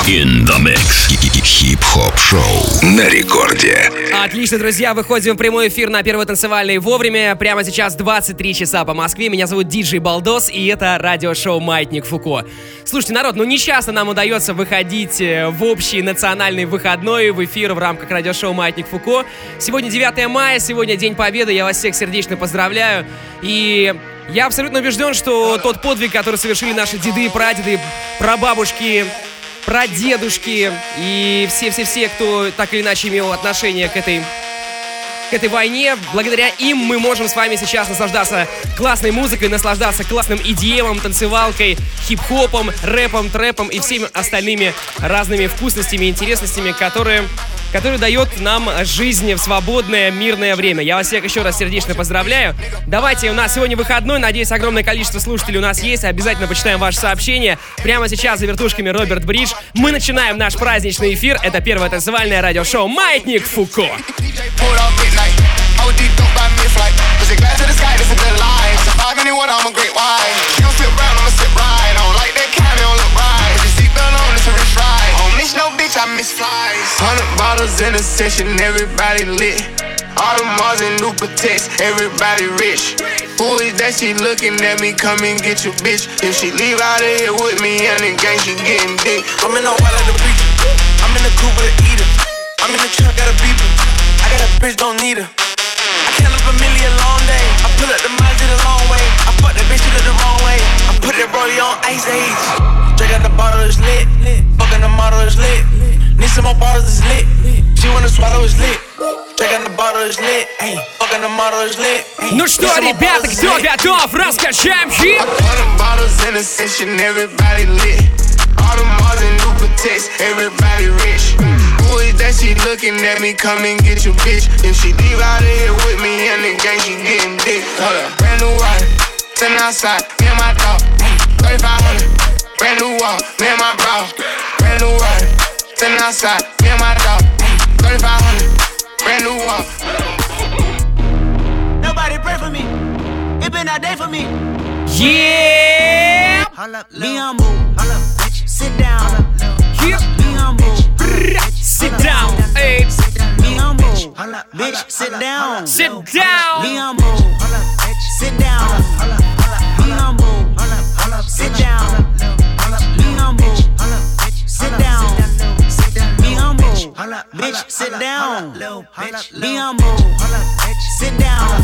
In the mix. Хип-хоп-шоу на рекорде. Отлично, друзья, выходим в прямой эфир на Первый танцевальный вовремя. Прямо сейчас 23 часа по Москве. Меня зовут Диджей Балдос, и это радиошоу «Маятник Фуко». Слушайте, народ, не часто нам удается выходить в общий национальный выходной в эфир в рамках радиошоу «Маятник Фуко». Сегодня 9 мая, сегодня День Победы. Я вас всех сердечно поздравляю. И я абсолютно убежден, что тот подвиг, который совершили наши деды и прадеды, прабабушки, прадедушки и все-все-все, кто так или иначе имел отношение к этой войне, благодаря им мы можем с вами сейчас наслаждаться классной музыкой, наслаждаться классным EDM, танцевалкой, хип-хопом, рэпом, трэпом и всеми остальными разными вкусностями и интересностями, которые дает нам жизнь в свободное, мирное время. Я вас всех еще раз сердечно поздравляю. Давайте, у нас сегодня выходной, надеюсь, огромное количество слушателей у нас есть. Обязательно почитаем ваши сообщения. Прямо сейчас за вертушками Роберт Бридж. Мы начинаем наш праздничный эфир. Это первое танцевальное радиошоу «Маятник Фуко». No bitch, I miss flies. 100 bottles in a session, everybody lit. Audemars and new Pateks, everybody rich. Who is that? She looking at me, come and get your bitch. If she leave out of here with me and the gang, she getting dick. I'm in the wild like the preacher. I'm in the coupe with a eater. I'm in the truck, got a beeper. I got a bitch, don't need her. I count up a million long day. I pull up the miles, did a long way. I fuck that bitch, she look the wrong way. I put that brody on ice age. Drink out the bottle, it's lit. Fucking the model, is lit. Need some more bottles, it's lit. She wanna swallow, it's lit. Drink out the bottle, it's lit. Fucking the model, is lit. Ну что, ребята, кто готов? Раскачаем хип! 100 bottles in a session, everybody lit. All the Mars and new Pateks, everybody rich. Who is that? She looking at me, come and get your bitch. If she leave out of here with me and the gang, she getting dick. Brand new ride, 10 outside, me and my dog. 3500. Brand new wall, me and my bro. Brand new ride, 10 outside, me and my dog. 3500, brand new wall. Nobody pray for me. It been a day for me. Yeah! Be humble. Sit down. Yeah. Be humble. Sit down. Hey. Be humble. Bitch, sit down. Sit down. Be humble. Sit down. Be humble. Sit down. Be humble. Sit down. Be humble. Bitch, sit down. Be humble. Sit down.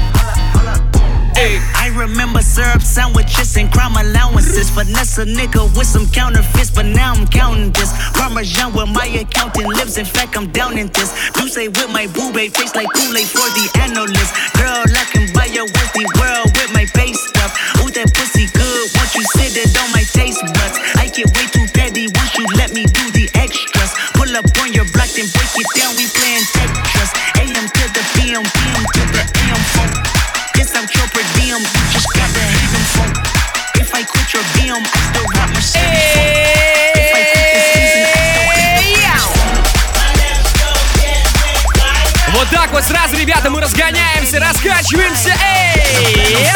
I remember syrup sandwiches and crime allowances. Finesse a nigga with some counterfeits, but now I'm counting this. Parmesan with my accountant lips, in fact I'm down in this. Do say with my boo babe, face like Kool-Aid for the analyst. Girl, I can buy your Westie world with my base stuff. Ooh, that pussy good, once you sit it on my taste buds. I get way too petty once you let me do the extras. Pull up on your block, then break it down, we playing Tetris. AM to the PM, PM to the AM phone. This out your per diem, you just gotta hate them phone. If I quit your DM, I still rock my shit. If I quit this season, I still Вот так вот сразу, ребята, мы разгоняемся, раскачиваемся. Эй!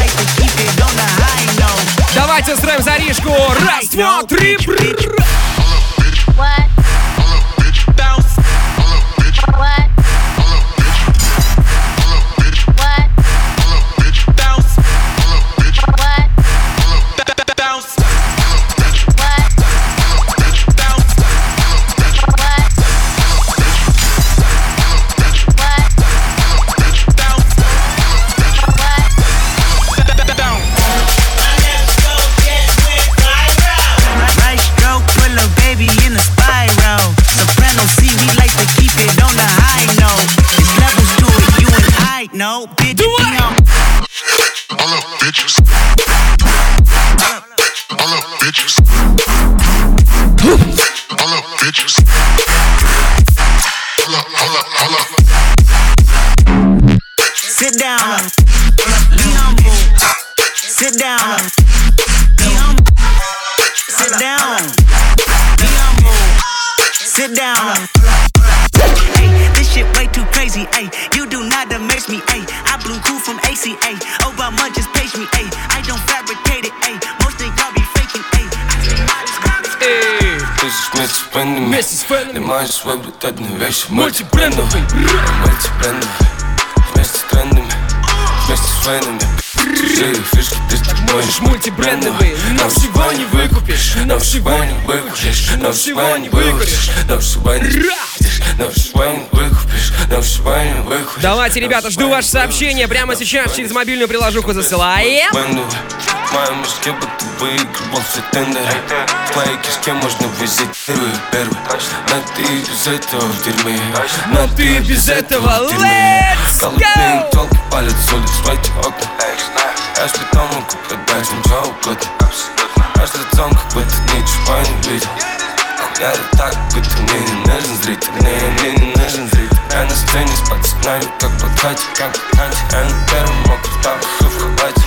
Давайте устроим заришку. Раз, два, три. What? bounce. What? No, bitch, All up, bitches. All up, bitches. All up, bitches. All up. sit down. Be humble. Sit down. Be humble. Sit down. Be humble. Sit down. Hey, this shit way too crazy. Ay, you do not amaze me. Ay, I blew cool from ACA. Obama just page me. Ay, I don't fabricate it. Ay, most of y'all be faking. Ay, I вместе с фэнами. Вместе с фэнами. Лимаешь свой брутальные вещи. Мультибрендовый. Мультибрендовый. Вместе с трендами. Вместе с фэнами. Чужие фишки ты Можешь мультибрендовый, но всего не выкупишь. Но всего не выкупишь. Но всего не выкупишь. Но всего не выкупишь. Но всего не выкупишь. Но всего не выкупишь. Давайте, ребята, жду ваше сообщение прямо сейчас через мобильную приложуху засылаем. В моем мешке будто выигрывал все тендеры. В твоей кишке можно взять первый. Но ты без этого в дерьме. Но ты без этого, let's Голубые go! толки палят с улиц в эти окна. Я ж потом могу продать им что угодно. Аж лицом, как будто ничего не видел. Я так, будто мне не нужен зритель. Мне не нужен зритель. Я на сцене с пацанами, как подкате. Я на первом мокром тапах и в халате.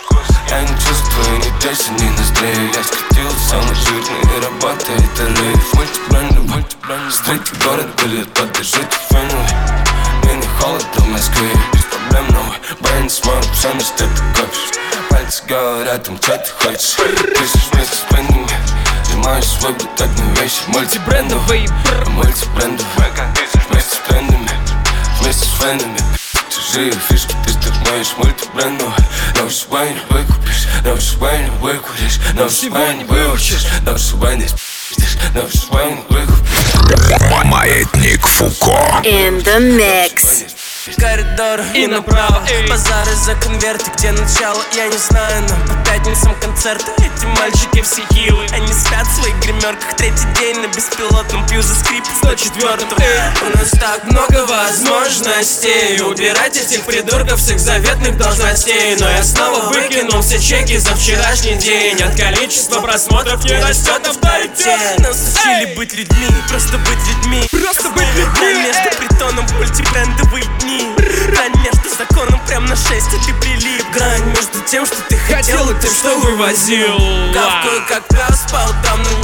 Я не чувствую ни песен, ни ноздрей. Я скрутил самый жирный и работает рейв. Мультибрендовый, стрейти город гулит, поддержите феновый. Мне не холодно в Москве, без проблем новый. Брейн смотрит, все на что ты копишь. Пальцы говорят им, что ты хочешь. Пишешь вместе с фенами. Лимаешь свой брутальные вещи. Мультибрендовый. Мультибрендовый. Вместе с трендами. Вместе с фенами. Чужие фишки ты стырмаешь мультибрендовый. Но всего не выкупишь. Но всего не выкуришь. Но всего не выучишь. Но всего не спишь. Но всего не выкупишь. Маятник Фуко. In the mix. Коридор И направо, эй. базары за конверты, где начало, я не знаю, но по пятницам концерты. Эти мальчики все хилы, они спят в своих гримерках. Третий день на беспилотном пью за скрип 104-м. У нас так много возможностей убирать этих придурков с их заветных должностей. Но я снова выкинул все чеки за вчерашний день. От количества просмотров не растет авторитет. Нас учили быть людьми, просто быть людьми. Просто быть людьми. Между притоном мультибрендовые дни. Грань между законом прям на 6, и ты прилип. Грань между тем, что ты хотел, и тем, что вывозил. Кавкаю, как пес, спал там на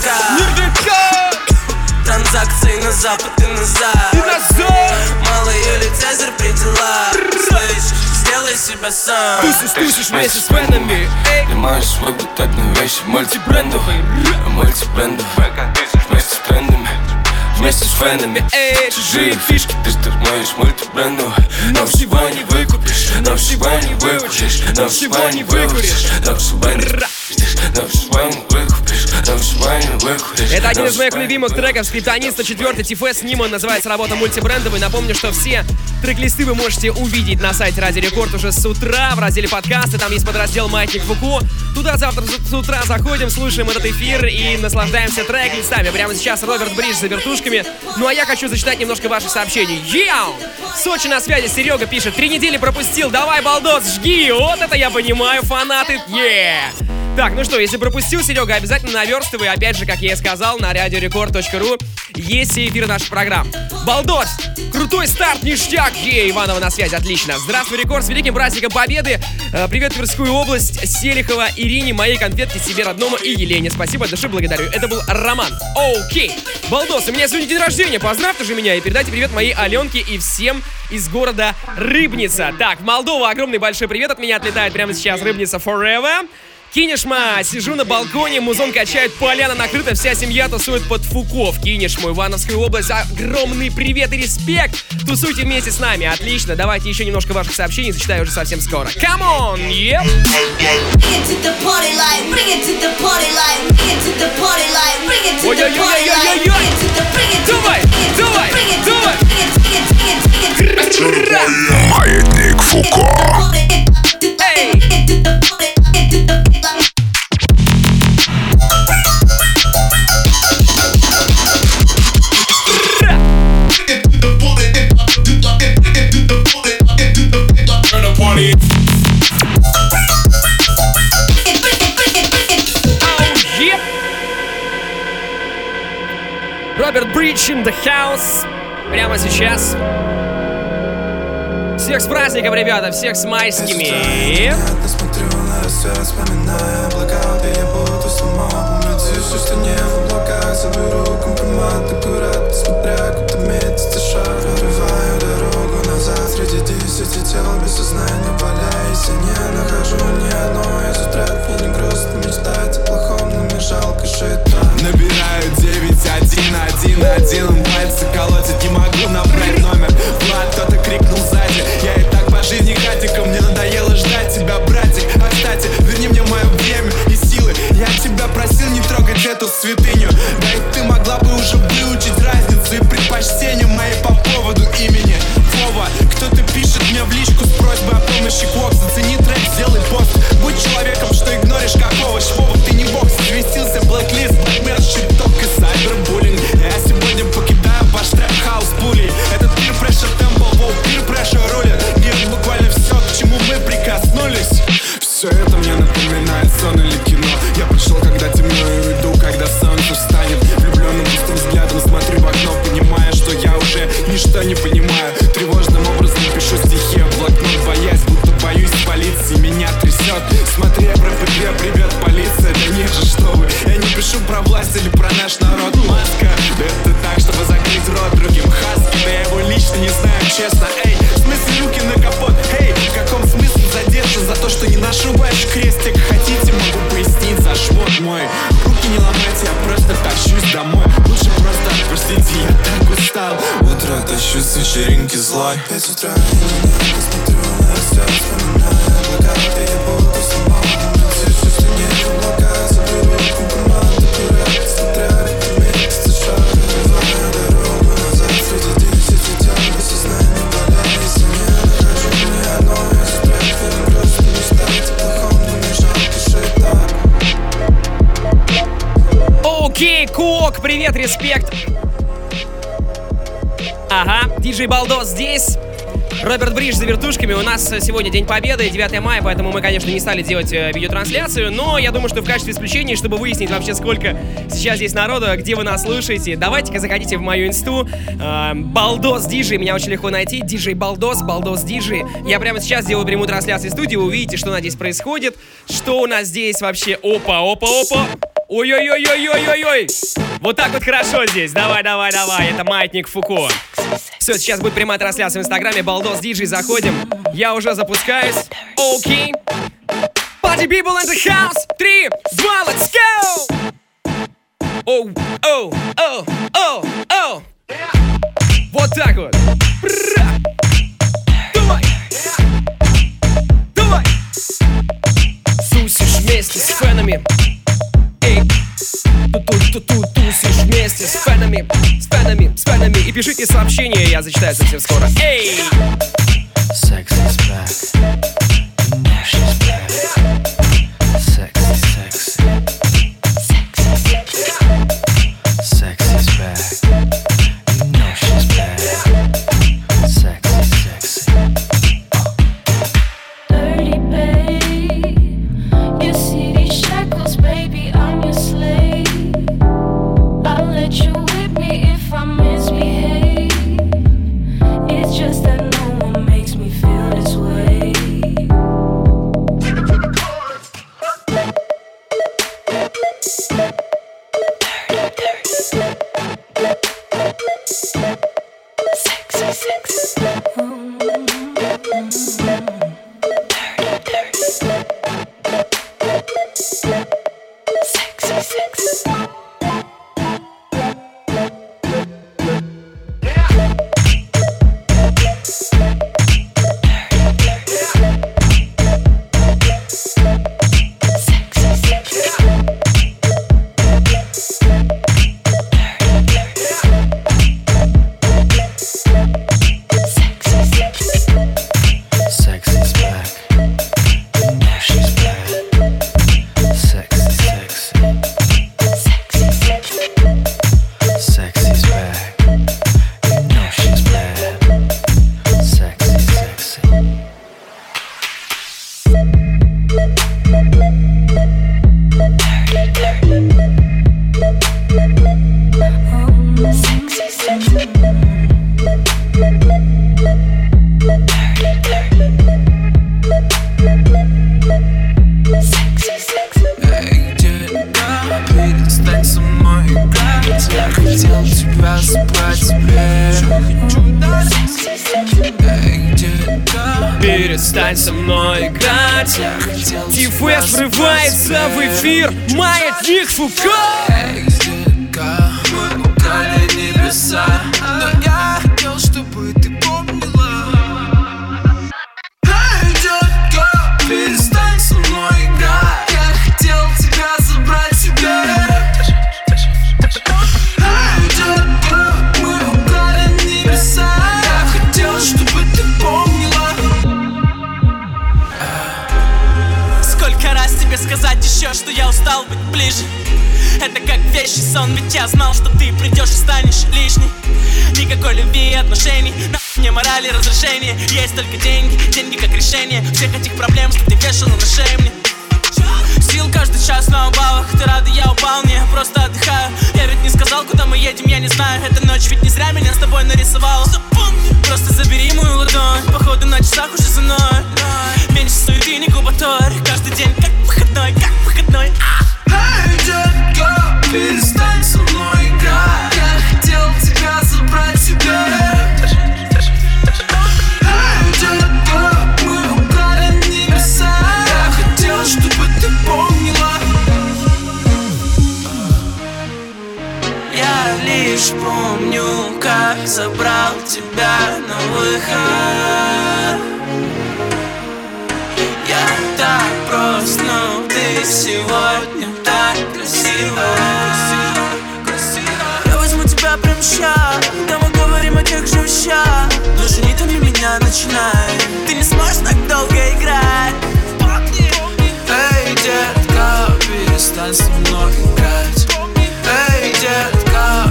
нердака. Транзакции на запад и назад. Малый или Цезарь при делах. Слышь, сделай себя сам. Тусишь вместе с фенами. Лимаешь свой брутальные вещи. Мультибрендовый. Мультибрендовый. Вместе с трендами. Вместе с фенами. Чужие фишки ты стырмаешь мультибрендовый. Но всего не выкупишь. Но всего не выкупишь. Но всего не выкуришь. Но всего не выкупишь. Но всего не выкупишь. Но всего не выкуришь. Это один из моих любимых треков Скриптониста 4 Тифес Ниман. Называется работа мультибрендовый. Напомню, что все трек-листы вы можете увидеть на сайте Радио Рекорд уже с утра в разделе подкасты. Там есть подраздел Маятник Фуко. Туда завтра с утра заходим, слушаем этот эфир и наслаждаемся трек-листами. Прямо сейчас Роберт Бридж за вертушками. Ну а я хочу зачитать немножко ваших сообщений. Яу! Сочи на связи, Серега пишет: 3 недели пропустил, давай, балдос, жги! Вот это я понимаю, фанаты, Так, ну что, если пропустил, Серега, обязательно наверстывай. Опять же, как я и сказал, на radiorecord.ru есть все эфиры наших программ. Балдос! Крутой старт, ништяк! Иванова на связи, отлично. Здравствуй, Рекорд, с великим праздником Победы. Привет, Тверскую область, Селихова, Ирине, моей конфетке, себе родному и Елене. Спасибо от души, благодарю. Это был Роман. Окей. Балдос, у меня сегодня день рождения, поздравьте же меня и передайте привет моей Аленке и всем из города Рыбница. Так, в Молдову огромный большой привет от меня отлетает прямо сейчас. Рыбница forever. Кинешма, сижу на балконе, музон качает, поляна накрыта, вся семья тусует под Фуко. В Кинешму, Ивановскую область, огромный привет и респект! Тусуйте вместе с нами, отлично. Давайте еще немножко ваших сообщений, зачитаю уже совсем скоро. Come on, yep! Ой-ой-ой-ой-ой-ой! Давай, давай, давай! Маятник Фуко. Эй! Роберт Бридж in the house. Прямо сейчас. Всех с праздником, ребята, всех с майскими. Смотрю на рассвет, вспоминая блокауты, я буду сломал. Убедившись, что не в облаках, заберу компромат аккуратно, смотря, куда метится шар. Прорываю дорогу назад, среди 10 тел без сознания валяюсь. Я не нахожу ни одной из утрат. Мне не грустно мечтать о плохом, но мне жалко жить так. Набираю 9 тащусь с вечеринки злой. 5 утра, я не смотрю на рассвет, вспоминаю облака, где я буду сама. Все, что не в облаках, заберу компромат, аккурат, смотря как месяц шаг. Выбиваю дорогу назад, среди 10 летят, осознание болеет. Если не нахожу ни одной из трек, я просто не стать плохом, но мне жалко жить так. Окей, Кок, привет, респект. Ага, диджей Балдос здесь. Роберт Бридж за вертушками. У нас сегодня День Победы, 9 мая, поэтому мы, конечно, не стали делать видеотрансляцию, но я думаю, что в качестве исключения, чтобы выяснить вообще, сколько сейчас здесь народу, где вы нас слушаете, давайте-ка заходите в мою инсту. Балдос Диджей, меня очень легко найти. Диджей Балдос, Балдос Диджей. Я прямо сейчас делаю прямую трансляцию в студии, вы увидите, что у нас здесь происходит, что у нас здесь вообще. Опа, опа, опа. Ой-ой-ой-ой-ой-ой-ой. Вот так вот хорошо здесь. Давай, давай, давай. Это Маятник Фуко. Все, сейчас будет прямая трансляция в инстаграме. Балдос Диджей, заходим. Я уже запускаюсь. Окей. Party people in the house. 3, 2, let's go. Оу, оу, оу, оу, оу. Вот так вот. Давай. Давай. Тусишь вместе с фенами. Тусишь вместе с фенами, с фенами, с фенами. И пишите сообщения, я зачитаю совсем скоро. Эй! Sexy is back. You know she's back. Sexy, sexy. Sexy is back. You know she's back. Sexy, sexy. Dirty babe, you see these shackles, baby, I'm your slave. I'll let you whip me if I misbehave. It's just that no one makes me feel this way. Sexy, sexy. Sexy, sexy. Sexy's back. You know she's back. Sexy, sexy. Sexy's back. You know she's bad. Sexy, sexy. Sexy, sexy. Sexy, sexy. Эй, детка, перестань со мной играть. Я хотел тебя забрать себе. Эй, детка, Перестань со мной играть. я хотел Ти-фест врывается в эфир. Маятник Фуко. Эй, детка, мы украли небеса, но я хотел, чтобы ты помнила. Эй, детка, перестань со мной играть. Я хотел тебя забрать себе. Эй, детка, мы украли небеса. Я хотел, чтобы ты помнила. Сколько раз тебе сказать еще, что я устал быть ближе? Это как вещий сон, ведь я знал, что ты придешь и станешь лишней. Никакой любви и отношений, мне морали разрешения. Есть только деньги, деньги как решение всех этих проблем, что ты вешала на шее мне. Сил каждый час на убавах, ты рада, я упал, не, просто отдыхаю. Я ведь не сказал, куда мы едем, я не знаю. Эта ночь ведь не зря меня с тобой нарисовала. Просто забери мою ладонь, походу на часах уже за мной. Меньше суеты, не кубаторь, каждый день как выходной, как выходной. Эй, детка, перестань со мной играть. Я хотел тебя забрать себе. Эй, детка, мы украли небеса. Я хотел, чтобы ты помнила. Я лишь помню, как забрал тебя на выход. Я так прост, но ты сегодня так красива. Я возьму тебя прямо ща, да мы говорим о тех же вещах. Даже не томи меня, начинай. Ты не сможешь так долго играть. Эй, детка, перестань со мной играть. Эй, детка,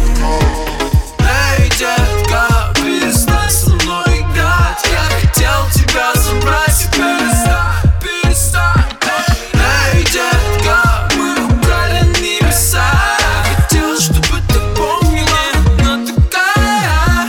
эй, детка, перестань со мной играть. Я хотел тебя забрать, перестань. Эй, детка, мы украли небеса. Я хотел, чтобы ты помнила, но такая.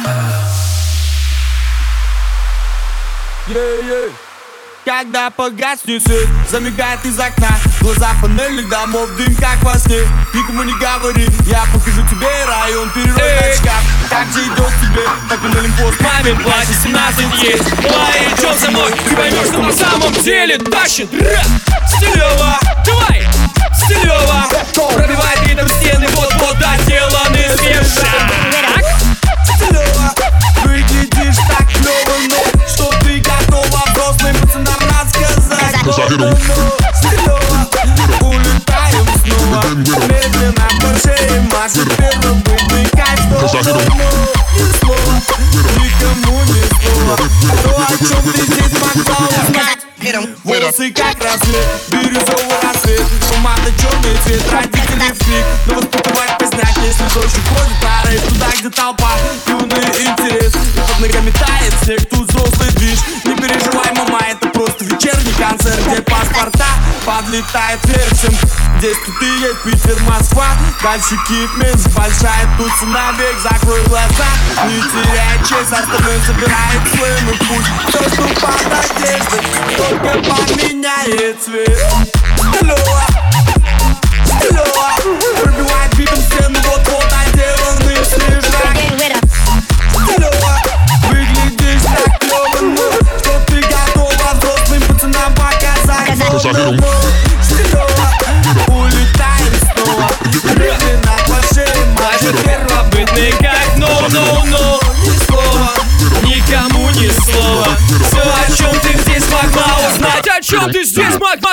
Когда погаснет свет, замигает из окна глаза панельных домов, дым как во сне. Никому не говори, я покажу тебе район, перерой шкаф. Как же идет тебе, так и на лимпост. Мамин платье 17 есть. Давай идем со мной, ты поймешь, что на самом деле тащит. Стилево, давай, стилево. Пробивает ритм стены, вот-вот доделаны свежа. Стилево, выглядишь так клево, но что ты готова взрослым пацанам рассказать. Стилево, улетаем снова, медленно по шее машет первым бытный кайф. Ни слова, никому ни слова, то, о чем ты здесь могла узнать. Волосы как рассвет, бирюзовый рассвет, помада черный цвет, родители в крик, но воспитывать поздняк, если дождь уходит, пора туда, где толпа, юный интерес, и под ногами тает снег, тут взрослый движ. Не переживай, мама, это просто вечерний концерт, где паспорта подлетает вверх. Здесь тут и есть Питер, Москва, дальше Киев, Минск, большая туса навек, закрой глаза, не теряй честь, остальное забирает слым и путь. Все, что под одеждой, только поменяет цвет. Стилево, стилево, пробивает битом стену, вот-вот отделанный свежак. Стилево, выглядишь так клево, но что ты готова взрослым пацанам показать. Стилево, улетаем снова, медленно по шее машет первобытный как no. Ни слова, никому ни слова. Все, о чем ты здесь могла узнать, о чем ты здесь могла.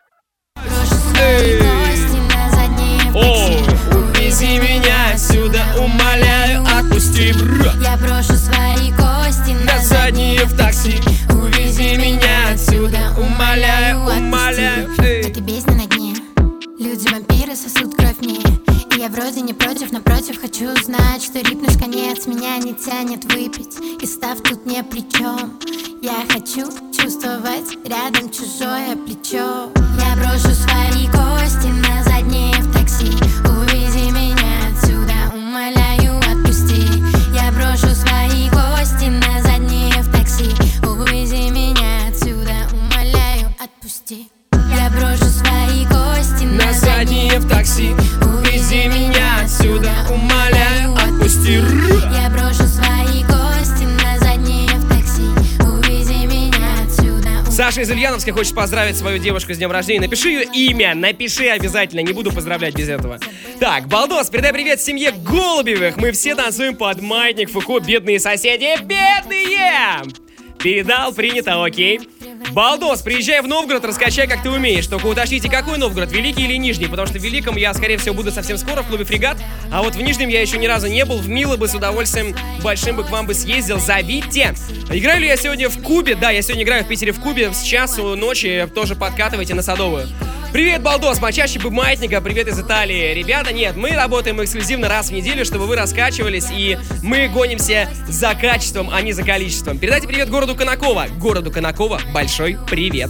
Ой, увези меня отсюда, умоляю, отпусти. Я брошу свои кости на задние в такси. Увези меня отсюда, умоляю. Как и бездна на дне, люди-вампиры сосут кровь мне. И я вроде не против, напротив, хочу узнать, что рипнешь конец, меня не тянет выпить, и став тут не при чем. Я хочу чувствовать рядом чужое плечо. Я брошу свои кости на заднее в такси. Увези меня отсюда, умоляю, отпусти. Я брошу свои кости на заднее в такси. Увези меня отсюда, умоляю, отпусти. Я брошу свои кости на заднее в такси. Увези меня отсюда, умоляю, отпусти. Я брошу свои кости на заднее в такси. Увези меня отсюда. Саша из Ульяновска хочет поздравить свою девушку с днем рождения. Напиши ее имя, напиши обязательно, не буду поздравлять без этого. Так, Балдос, передай привет семье Голубевых. Мы все танцуем под маятник Фуко, бедные соседи, бедные! Передал, принято, окей. Балдос, приезжай в Новгород, раскачай, как ты умеешь. Только уточните, какой Новгород, Великий или Нижний? Потому что в Великом я, скорее всего, буду совсем скоро в клубе «Фрегат». А вот в Нижнем я еще ни разу не был. В Мило бы с удовольствием большим бы к вам бы съездил. Зовите. Играю ли я сегодня в Кубе? Да, я сегодня играю в Питере в Кубе. С часу ночи тоже подкатывайте на Садовую. Привет, Балдос, почаще бы маятника, привет из Италии. Ребята, нет, мы работаем эксклюзивно раз в неделю, чтобы вы раскачивались, и мы гонимся за качеством, а не за количеством. Передайте привет городу Конаково. Городу Конаково большой привет.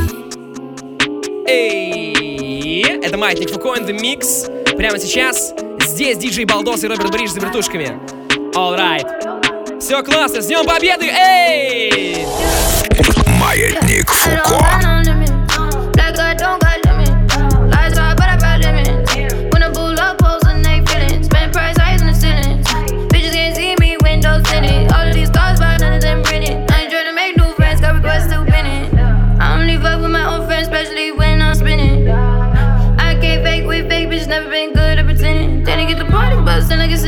Эй, это маятник Фуко and the Mix. Прямо сейчас здесь диджей Балдос и Роберт Бридж за вертушками. Alright. Все классно, с Днем Победы, эй! Маятник Фуко. Never been good at pretending. Then I get the party bustin' like it's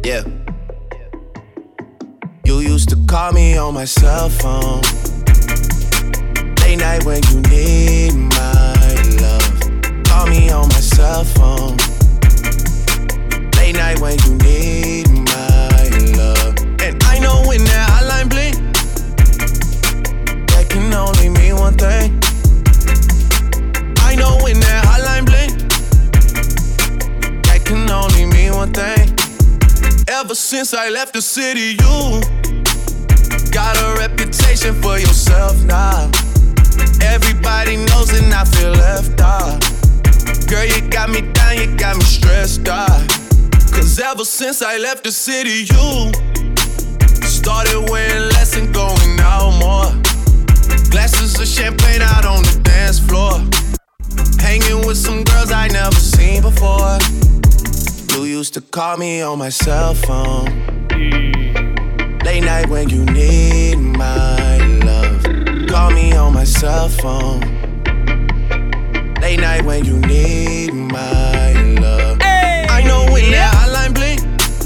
Yeah. You used to call me on my cell phone. Late night when you need my love. Call me on my cell phone. Late night when you need my love. And I know when that hotline blink, that can only mean one thing. I know when that hotline blink, that can only mean one thing. Ever since I left the city, you got a reputation for yourself now. Everybody knows and I feel left out. Girl, you got me down, you got me stressed out. Cause ever since I left the city, you started wearing less and going out more. Glasses of champagne out on the dance floor. Hanging with some girls I never seen before. You used to call me on my cell phone. Late night when you need my love. Call me on my cell phone. Late night when you need my love. Hey, I know when that hotline blink,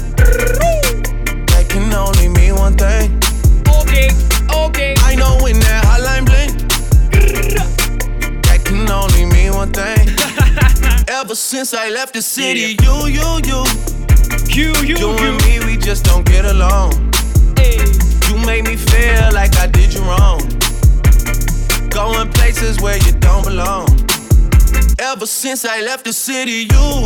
that can only mean one thing. Okay, okay. I know when that hotline blink, that can only mean one thing. Ever since I left the city, you and me, we just don't get along. You made me feel like I did you wrong. Going places where you don't belong. Ever since I left the city, you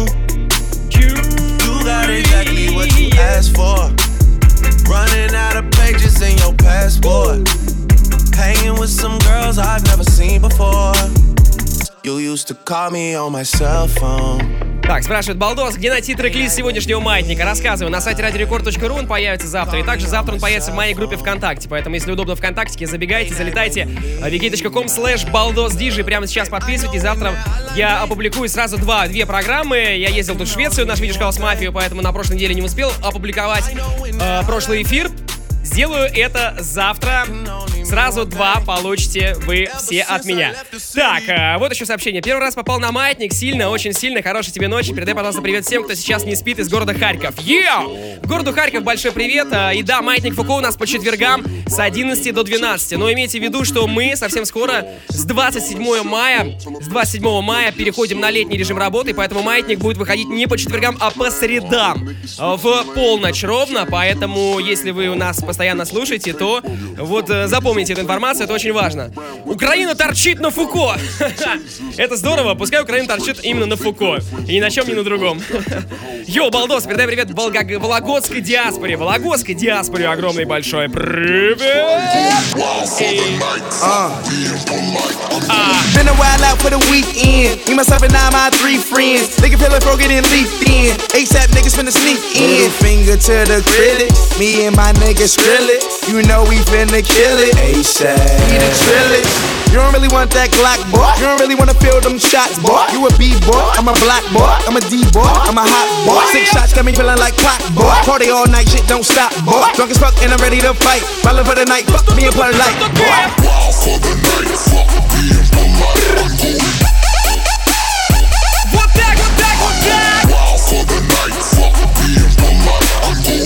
got exactly what you asked for. Running out of pages in your passport. Hanging with some girls I've never seen before. You used to call me on my cell phone. Так, спрашивает Балдос, где найти трек-лист сегодняшнего маятника? Рассказываю, на сайте radiorecord.ru он появится завтра. И также завтра он появится в моей группе ВКонтакте. Поэтому, если удобно ВКонтакте, забегайте, залетайте vk.com/baldosdj. Прямо сейчас подписывайтесь. Завтра я опубликую сразу две программы. Я ездил тут в Швецию на Swedish House Mafia, поэтому на прошлой неделе не успел опубликовать прошлый эфир. Сделаю это завтра. Сразу 2 получите вы все от меня. Так, вот еще сообщение. Первый раз попал на маятник. Сильно, очень сильно. Хорошей тебе ночи. Передай, пожалуйста, привет всем, кто сейчас не спит из города Харьков. Городу Харьков большой привет. И да, маятник Фуко у нас по четвергам с 11 до 12. Но имейте в виду, что мы совсем скоро с 27 мая переходим на летний режим работы. Поэтому маятник будет выходить не по четвергам, а по средам в полночь ровно. Поэтому, если вы у нас постоянно слушаете, то вот запомните эту информацию, это очень важно. Украина торчит на Фуко. Это здорово, пускай Украина торчит именно на Фуко. И ни на чем, ни на другом. Йоу, Балдос, передай привет вологодской диаспоре. Вологодской диаспоре огромный большой привет. Been a while out for the weekend. Me, myself, and I, my 3 friends. Nigga feel like broken and leafed in. ASAP niggas finna sneak in. Middle finger to the critic. Me and my niggas skrill it. You know we finna kill it. ASAP. We the trillage. You don't really want that Glock, boy. You don't really wanna feel them shots, boy. You a B-boy, I'm a black boy. I'm a D-boy, I'm a hot boy. 6 shots got me feeling like clock, boy. Party all night, shit don't stop, boy. Drunk as fuck and I'm ready to fight. Ballin' for the night, fuck me and play like, boy. Wild for the night, fuck me and polite. Вот так, вот так, вот так. Wild for the night, fuck me and polite.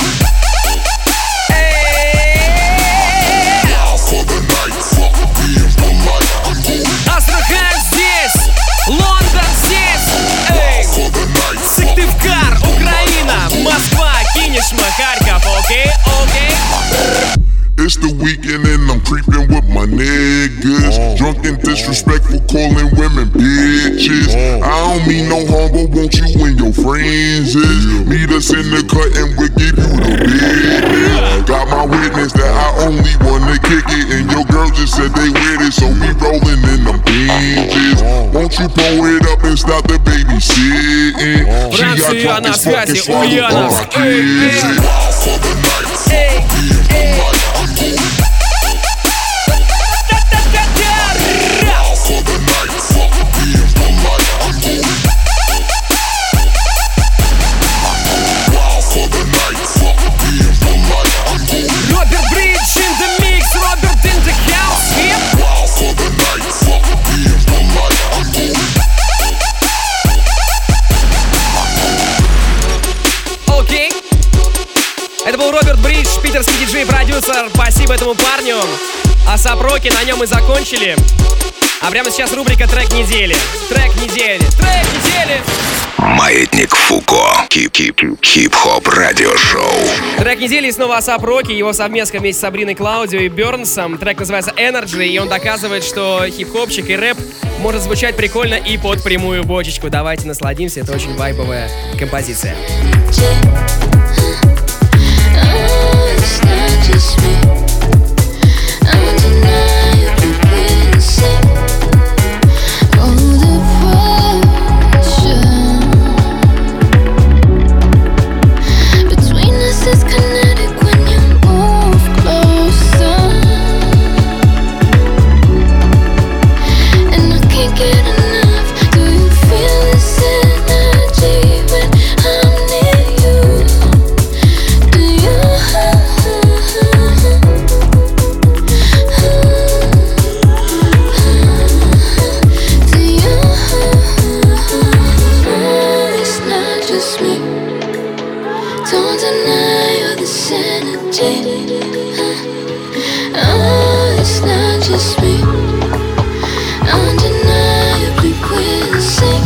Wild for the night, fuck me and polite. Астрахань здесь, Лондон здесь, Сыктывкар, Украина, Москва, Кинешма, Харьков, окей. It's the weekend and I'm creeping with my niggas. Drunk and disrespectful, calling women bitches. I don't mean no harm, but won't you and your friends is? Meet us in the cut and we'll give you the business. Got my witness that I only wanna kick it, and your girl just said they with it, so we rolling in them binges. Won't you pull it up and stop the babysitting? She got drunk as fuck and swallowed all my kids. Wild for the night, fuck me and polite. Wild for the night, fuck me and polite. Wild for the night, fuck me and polite. Роберт Бридж in the mix, Роберт in the house. Wild for the night, fuck me and polite. Окей. Это был Роберт Бридж, питерский диджей-продюсер. Спасибо этому парню. А Сапроки на нем и закончили. А прямо сейчас рубрика «Трек недели». Трек недели. Трек недели. Маятник Фуко. Хип-хоп радиошоу. Трек недели и снова Асап Роки. Его совместка вместе с Сабриной Клаудио и Бернсом. Трек называется Energy, и он доказывает, что хип-хопчик и рэп может звучать прикольно и под прямую бочечку. Давайте насладимся, это очень вайбовая композиция. It's kinetic when you move closer, and I can't get enough. Do you feel this energy when I'm near you? Do you? Do you? It's not just me. Don't deny all this energy. Oh, it's not just me. Undeniably we're the same.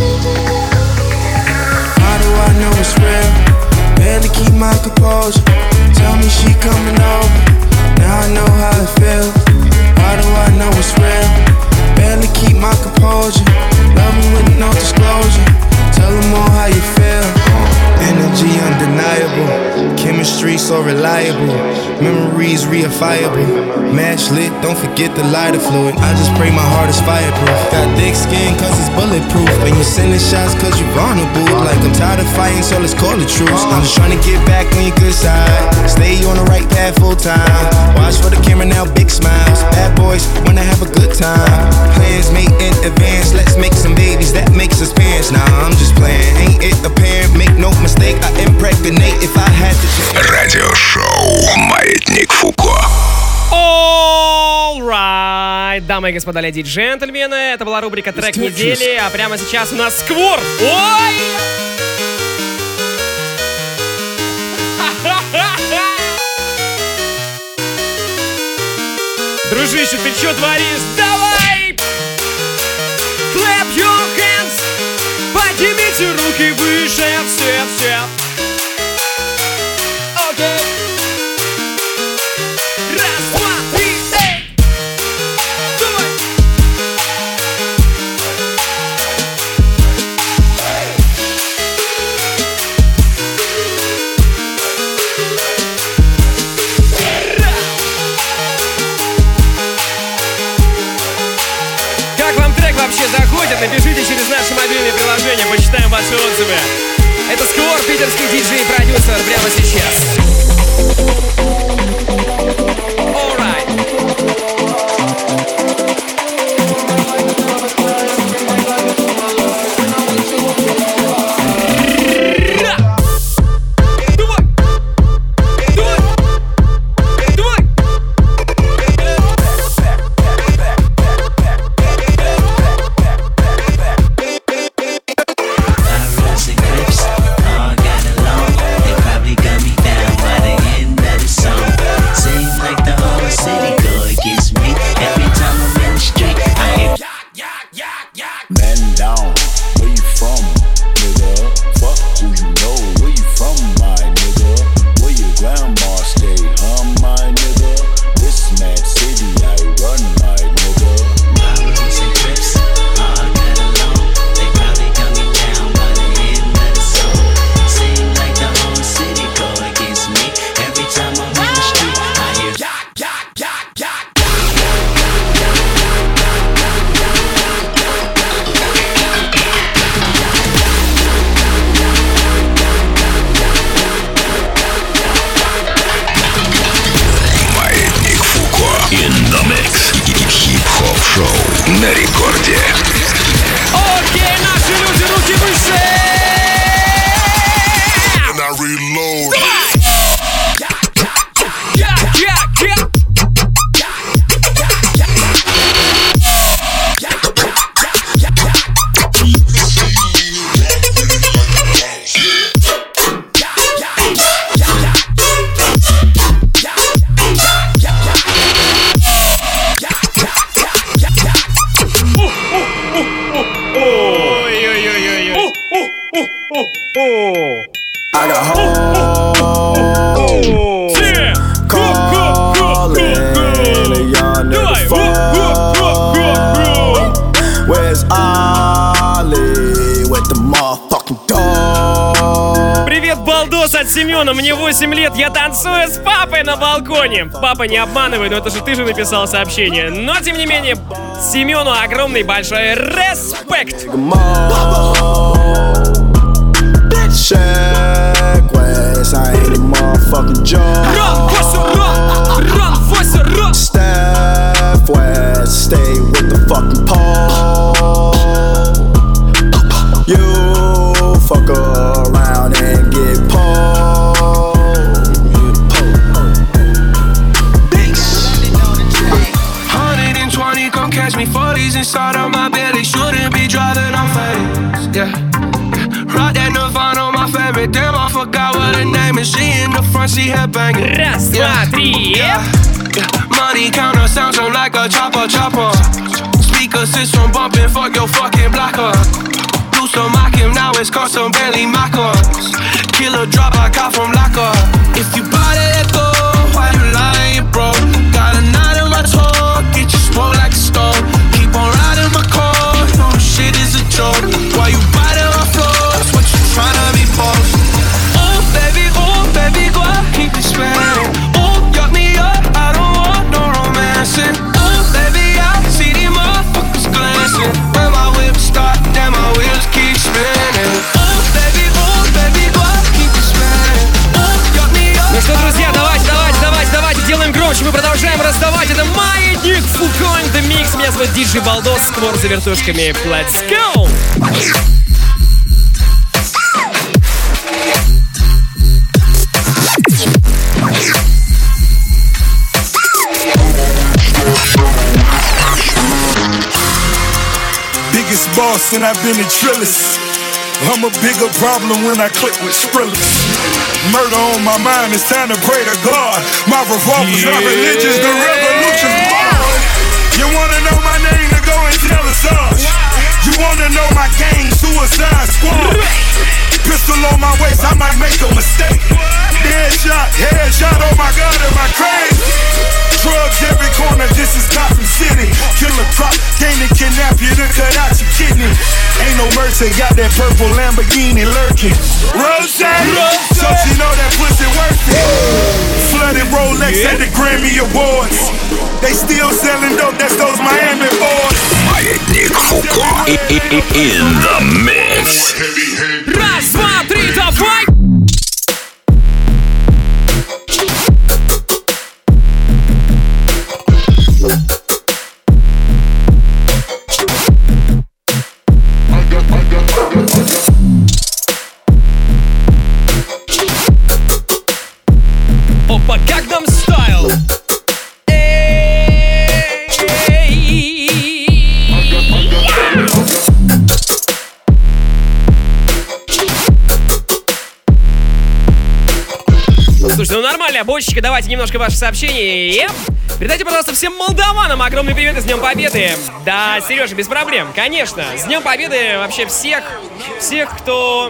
How do I know it's real? Barely keep my composure. Tell me she coming over. Now I know how it feels. How do I know it's real? Barely keep my composure. Love me with no disclosure. Tell them all how you feel. Energy undeniable, chemistry so reliable, memories reifiable, match lit, don't forget the lighter fluid. I just pray my heart is fireproof. Got thick skin cause it's bulletproof, and you sending shots cause you vulnerable. Like I'm tired of fighting, so let's call it truce. I'm just trying to get back on your good side, stay on the right path full time. Watch for the camera now, big smiles. Bad boys wanna have a good time. Plans made in advance, let's make some babies, that makes us parents. Nah, I'm just playing, ain't it apparent, make no mistake, I impregnate if I had to change. Радиошоу Маятник Фуко. All right, дамы и господа, леди и джентльмены, это была рубрика «Трек недели», а прямо сейчас у нас сквор. Ой! Дружище, ты чё творишь? Давай! Clap your hands! Поднимите руки выше, все. Окей. Раз, два, три, эй! Давай! Как вам трек вообще заходит? Напишите через наши мобильные приложения, почитаем ваши отзывы. Это Сквор, питерский диджей и продюсер прямо сейчас. All right. All got along, they probably got me down by the end of the song. I got hoes calling a young nigga phone. Where's Ollie with the motherfucking dog? Привет, балдос от Семена. Мне 8 лет, я танцую с папой на балконе. Папа, не обманывай, но это же ты же написал сообщение. Но, тем не менее, Семену огромный большой респект. Check West, I ain't a motherfucking joke. Run, Steph West, stay with the fucking pole. You fuck around and get pulled. 120, come catch me 40s inside of my belly. Shouldn't be driving on fades, yeah. Rock that Nirvana on my favorite. Damn, I forgot what her name is. She in the front, she headbanging. Раз, два, три, Money counter sounds on like a chopper. Speaker system bumping, fuck your fucking blocker. Do some mock him, now it's custom Bentley Mockers. Killer drop, I caught from locker. If you buy that go, why you lying, bro? Got a knot in my toe, get you smoke like a stove. Keep on riding my car, no shit is a joke. Why you biting my floors? What you tryna be false? Oh baby, go out, keep it spinning. Oh, got me up, I don't want no romancing. Oh baby, I see these motherfuckers glancing. When my whip start, then my wheels keep spinning. Oh baby, go out, keep it spinning. Oh, got me up. Ну что, друзья, давайте, делаем громче. Мы продолжаем раздавать. Это Маятник Фуко in the Mix. Меня зовут Диджей Балдос, створ за вертушками. Let's go! Biggest boss and I've been a trillist. I'm a bigger problem when I click with Skrillex. Murder on my mind, it's time to pray to God. My revolver's not religious, the revolution's born. You wanna know my name, to go and tell us all. You wanna know my gang, Suicide Squad. Pistol on my waist, I might make a mistake. Headshot, oh my God, am I crazy? Drugs every corner, this is Gotham City. Killer crop, came to kidnap you, to cut out your kidney. Ain't no mercy, got that purple Lamborghini lurking. Rose, so she know that pussy worth it. Flooded Rolex at the Grammy Awards. They still selling dope, that's those Miami boys. Маятник Фуко in the mix. Раз, два, три, давай! Опа, Gangnam Style! Слушайте, ну нормально, бочечка, давайте немножко ваши сообщения. Передайте, пожалуйста, всем молдаванам огромный привет и с Днем Победы. Да, Сережа, без проблем, конечно. С Днем Победы вообще всех, кто...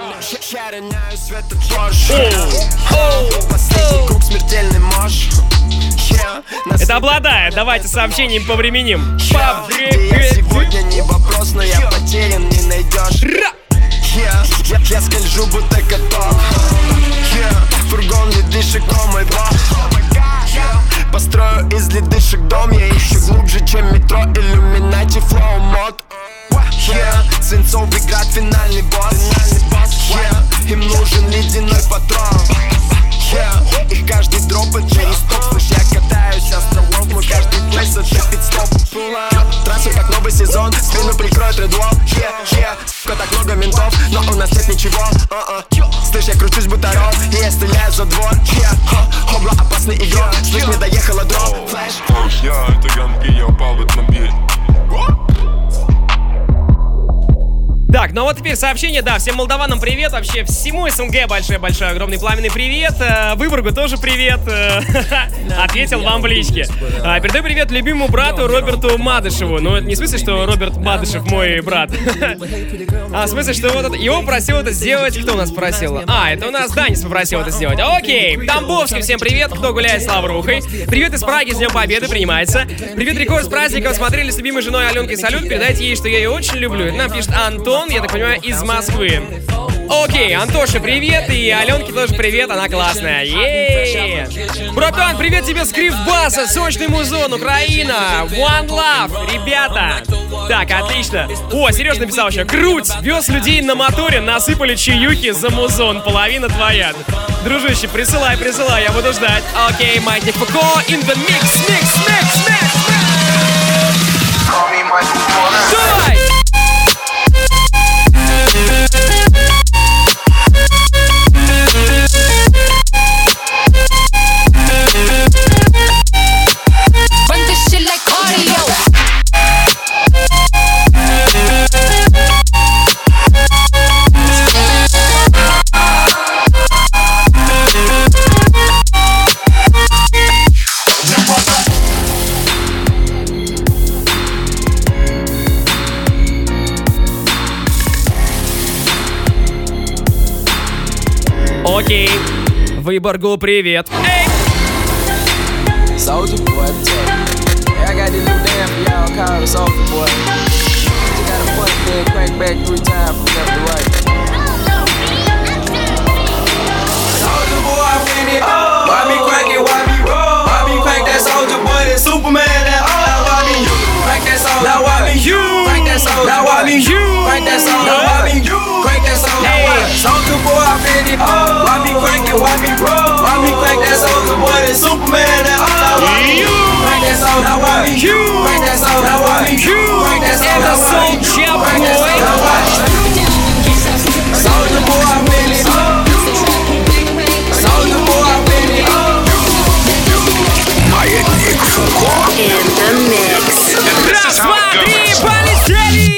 Это обладает, давайте сообщением повременим. Сегодня не вопрос, но я потерян, не найдешь. Я скольжу, будто коток. Фургон ледышек, мой бог. Построю из ледышек дом. Я ищу глубже, чем метро. Иллюминати, флоу, мод. Свинцовый град, финальный босс. Им нужен ледяной патрон. Их каждый дроп это через топ. Слышь, я катаюсь островов. Мой каждый плейс это пит-стоп. Трассу как новый сезон. Спину прикроет редлок. Сука, так много ментов, но у нас нет ничего. Слышь, я кручусь будто ров. И я стреляю за двор. Хобла, опасный игрок. Слышь, мне доехала дров. Флэш. Я это Янки, я упал в этом бит. Так, ну вот теперь сообщение, да, всем молдаванам привет, вообще всему СНГ большой-большой огромный пламенный привет, Выборгу тоже привет, ответил вам в личке. Передаю привет любимому брату Роберту Мадышеву, ну это не в смысле, что Роберт Мадышев мой брат, а в смысле, что вот его просил это сделать, кто у нас просил? Это у нас Данис попросил это сделать, окей, Тамбовский, всем привет, кто гуляет с Лаврухой, привет из Праги, с Днем Победы, принимается, привет Рекорд с праздником, смотрели с любимой женой Аленкой салют, передайте ей, что я ее очень люблю, это нам пишет Антон, я так понимаю, из Москвы. Окей, Антоше привет, и Аленке тоже привет, она классная. Е-е-е. Братан, привет тебе с Кривбаса, сочный музон, Украина, One Love, ребята. Так, отлично. О, Сереж написал еще, круть, вез людей на моторе, насыпали чаюхи за музон, половина твоя. Дружище, присылай, я буду ждать. Окей, Маятник Фуко, in the mix. Давай! Окей, Выборгу привет. Эй! Soldier boy, hey, I got this new dance for y'all called the Soldier boy. Just got a punch then crank back 3 times from left to right. Soldier boy, I win it. Why me crank it? Why me roll? Why me crank that Soldier boy? That Superman that all. Why me you crank that Soldier? Now why me you crank that Soldier? Now why me you crank that Soldier? Now why me you crank that Soldier? Soldier boy, I win it. Why me crank it? Why me roll? Why me crank that Soldier boy? That Superman that all. Why me you crank that Soldier? Now why me you crank that Soldier? Now why me you crank that Soldier? Now why me you crank that Soldier? Soldier boy, I win it. Soldier boy, I win it. Маятник Фуко. In the mix. Раз, два, три, полетели!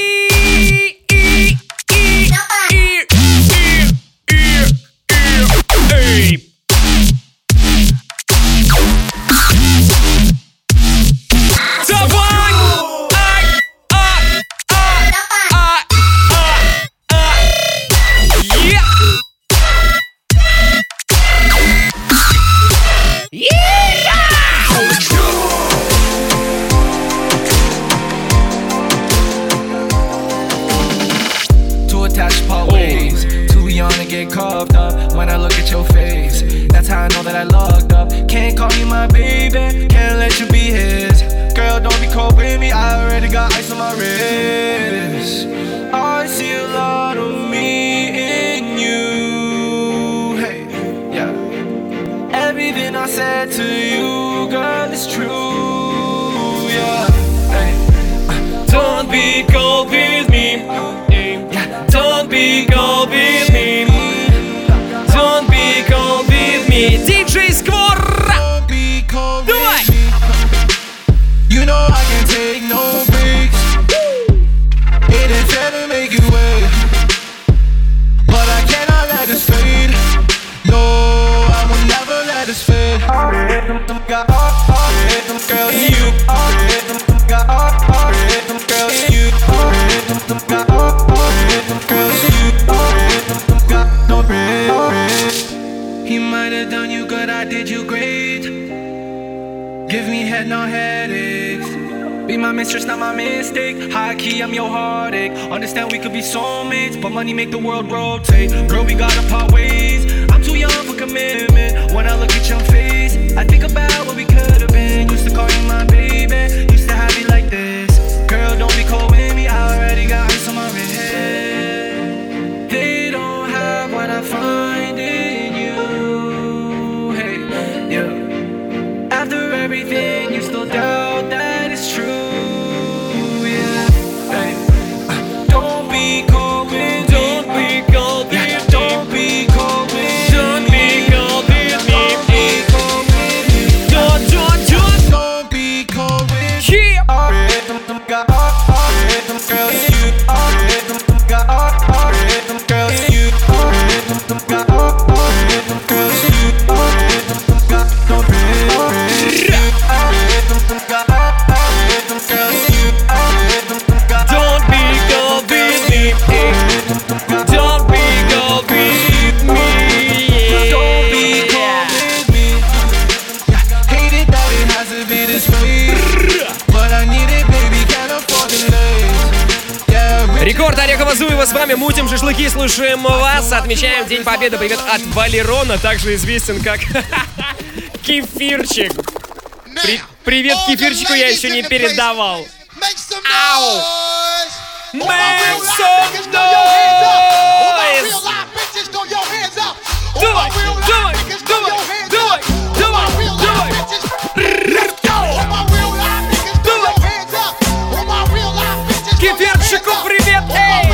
Get carved up when I look at your face. That's how I know that I logged up. Can't call you my baby, can't let you be his. Girl, don't be cold with me, I already got ice on my wrist. I see a lot of me in you. Hey, yeah. Everything I said to you, girl, is true. Yeah, hey. Don't be cold with me. Yeah. Don't be cold with me. Don't be cold with me. DJ Skvor! Давай! You know I can't take no breaks. It ain't fair to make you wait, but I cannot let this fade. No, I will never let this fade. Girl, you. Girl, you. He might have done you good, I did you great. Give me head, no headaches. Be my mistress, not my mistake. High key, I'm your heartache. Understand we could be soulmates, but money make the world rotate. Girl, we gotta part ways. I'm too young for commitment. When I look at your face, I think about what we could have been. Used to call you my baby, used to have you like this. Girl, don't be cold with me, I already got ice on my wrist. They don't have what I find in you. Hey, yeah. After everything, you still doubt that it's true. Yeah, hey. Don't be cold with me. Don't be cold with me. Don't be с вами, мутим шашлыки, слушаем вас, отмечаем День Победы. Привет от Валерона, также известен как Кефирчик. Привет Кефирчику я еще не передавал. Ау! Make some noise! Давай, давай, давай, давай, давай, давай! Кефирчику привет! Эй!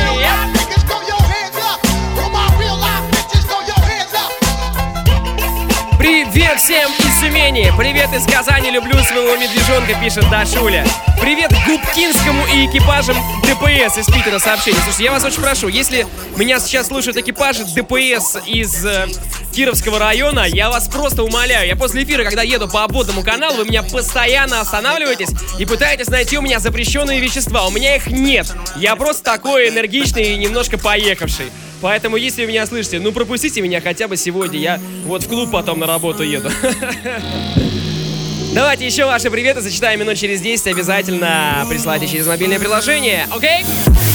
Привет всем из Тюмени! Привет из Казани! Люблю своего медвежонка, пишет Дашуля. Привет Губкинскому и экипажам ДПС из Питера сообщение. Слушайте, я вас очень прошу, если меня сейчас слушают экипажи ДПС из Кировского района, я вас просто умоляю. Я после эфира, когда еду по обводному каналу, вы меня постоянно останавливаетесь и пытаетесь найти у меня запрещенные вещества. У меня их нет. Я просто такой энергичный и немножко поехавший. Поэтому, если вы меня слышите, ну пропустите меня хотя бы сегодня. Я вот в клуб потом на работу еду. Давайте еще ваши приветы зачитаем минут через 10. Обязательно присылайте через мобильное приложение. Окей?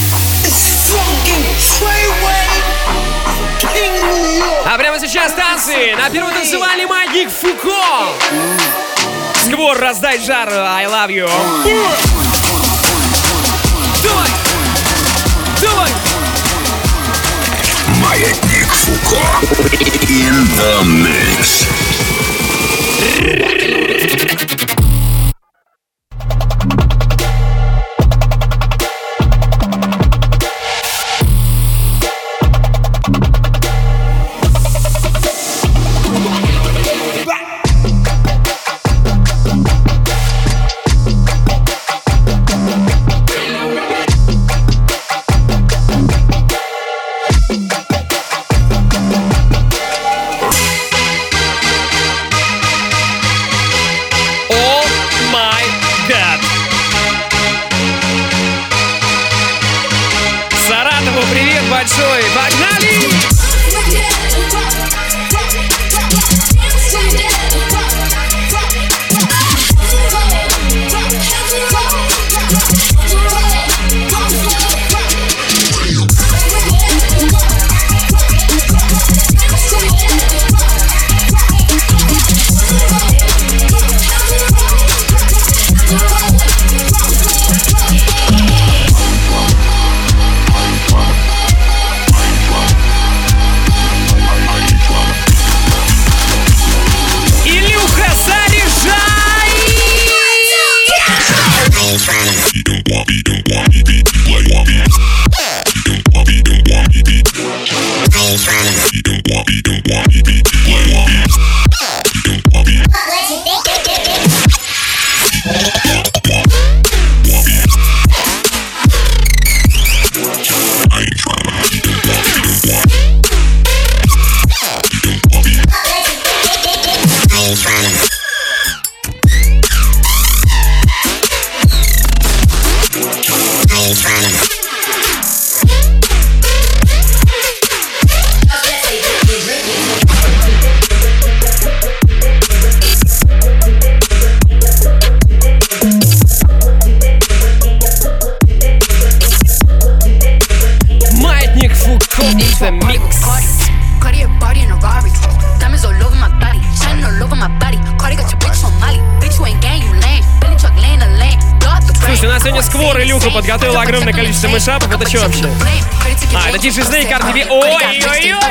А прямо сейчас танцы на первый танцевальный Маятник Фуко. Сквор, раздай жар, I love you. Давай! Давай! Маятник Фуко. In the mix. Большой, погнали! Подготовил огромное количество мышапов. Это что вообще? А, это DJ Snake RTV. Ой-ой-ой!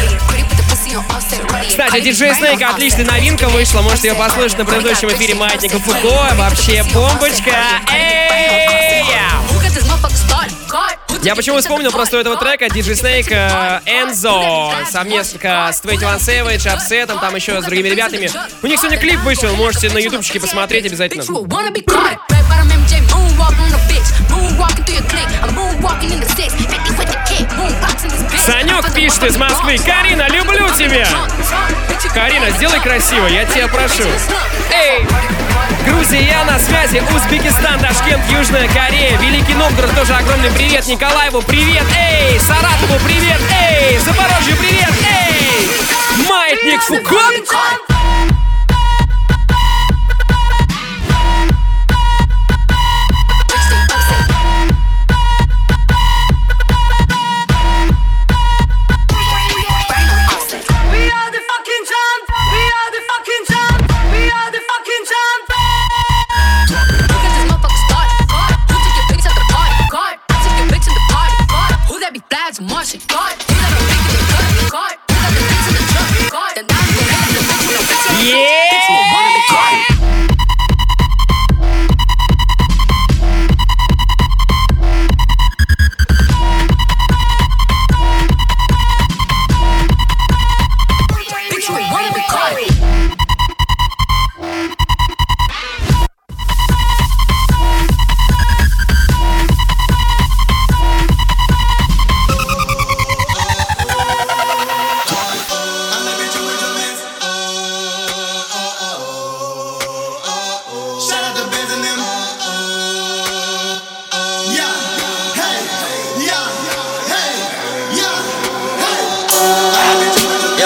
Кстати, DJ Snake отличная новинка вышла. Можете ее послушать на предыдущем эфире Маятника Фуко. Вообще бомбочка. Эй! Я почему вспомнил просто этого трека DJ Snake Enzo совместно с 21 Savage, Offset, там еще с другими ребятами. У них сегодня клип вышел, можете на ютубчике посмотреть обязательно. Санек пишет из Москвы: Карина, люблю тебя! Карина, сделай красиво, я тебя прошу. Эй! Грузия, я на связи. Узбекистан, Ташкент, Южная Корея, Великий Новгород, тоже огромный привет. Николаеву привет, эй! Саратову привет, эй! Запорожью привет, эй! Маятник Фуко!